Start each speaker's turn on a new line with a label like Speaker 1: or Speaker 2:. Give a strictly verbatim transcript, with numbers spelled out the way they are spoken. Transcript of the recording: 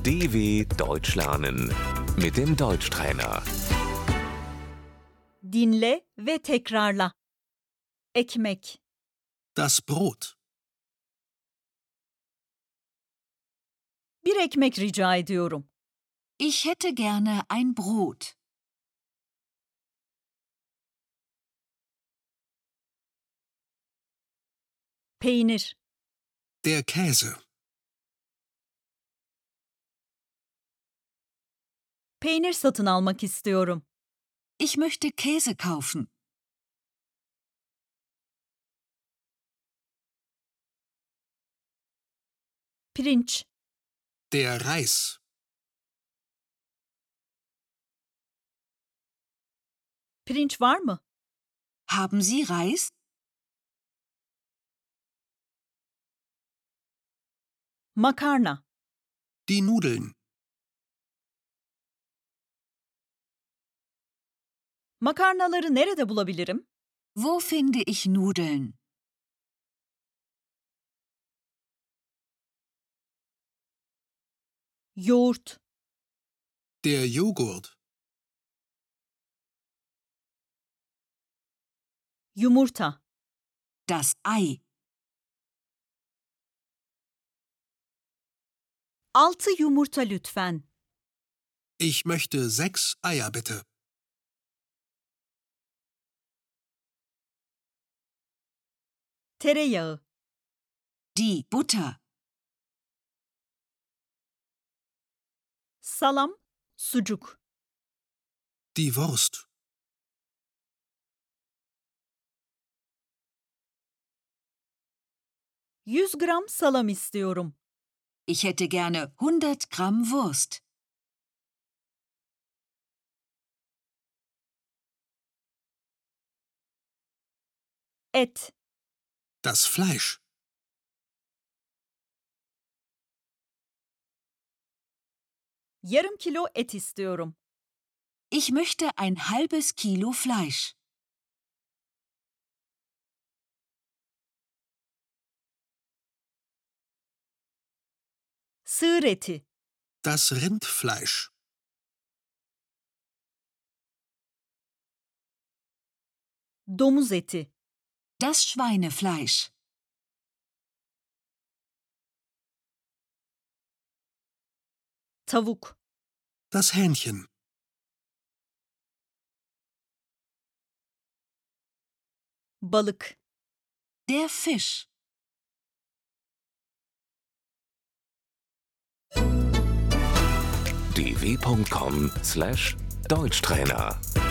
Speaker 1: D W Deutsch lernen mit dem Deutschtrainer.
Speaker 2: Dinle ve tekrarla. Ekmek,
Speaker 3: Das Brot.
Speaker 2: bir ekmek rica ediyorum.
Speaker 4: Ich hätte gerne ein Brot.
Speaker 2: Peynir,
Speaker 3: Der Käse.
Speaker 2: peynir satın almak istiyorum.
Speaker 4: Ich möchte Käse kaufen.
Speaker 2: Pirinç,
Speaker 3: Der Reis.
Speaker 2: pirinç var mı?
Speaker 4: Haben Sie Reis?
Speaker 2: Makarna,
Speaker 3: Die Nudeln.
Speaker 2: makarnaları nerede bulabilirim?
Speaker 4: Wo finde ich Nudeln?
Speaker 2: Yoğurt,
Speaker 3: Der Joghurt.
Speaker 2: yumurta,
Speaker 4: Das Ei.
Speaker 2: altı yumurta lütfen.
Speaker 3: Ich möchte sechs Eier bitte.
Speaker 2: Tereyağı,
Speaker 4: Die Butter.
Speaker 2: salam, sucuk,
Speaker 3: Die Wurst.
Speaker 2: yüz gram salam istiyorum.
Speaker 4: Ich hätte gerne hundert Gramm Wurst.
Speaker 2: Et,
Speaker 3: Das Fleisch.
Speaker 2: yarım kilo et istiyorum.
Speaker 4: Ich möchte ein halbes Kilo Fleisch.
Speaker 2: Sığır eti,
Speaker 3: Das Rindfleisch.
Speaker 2: domuz eti,
Speaker 4: Das Schweinefleisch.
Speaker 2: tavuk,
Speaker 3: Das Hähnchen.
Speaker 2: balık,
Speaker 4: Der Fisch.
Speaker 1: d w punkt com slash Deutschtrainer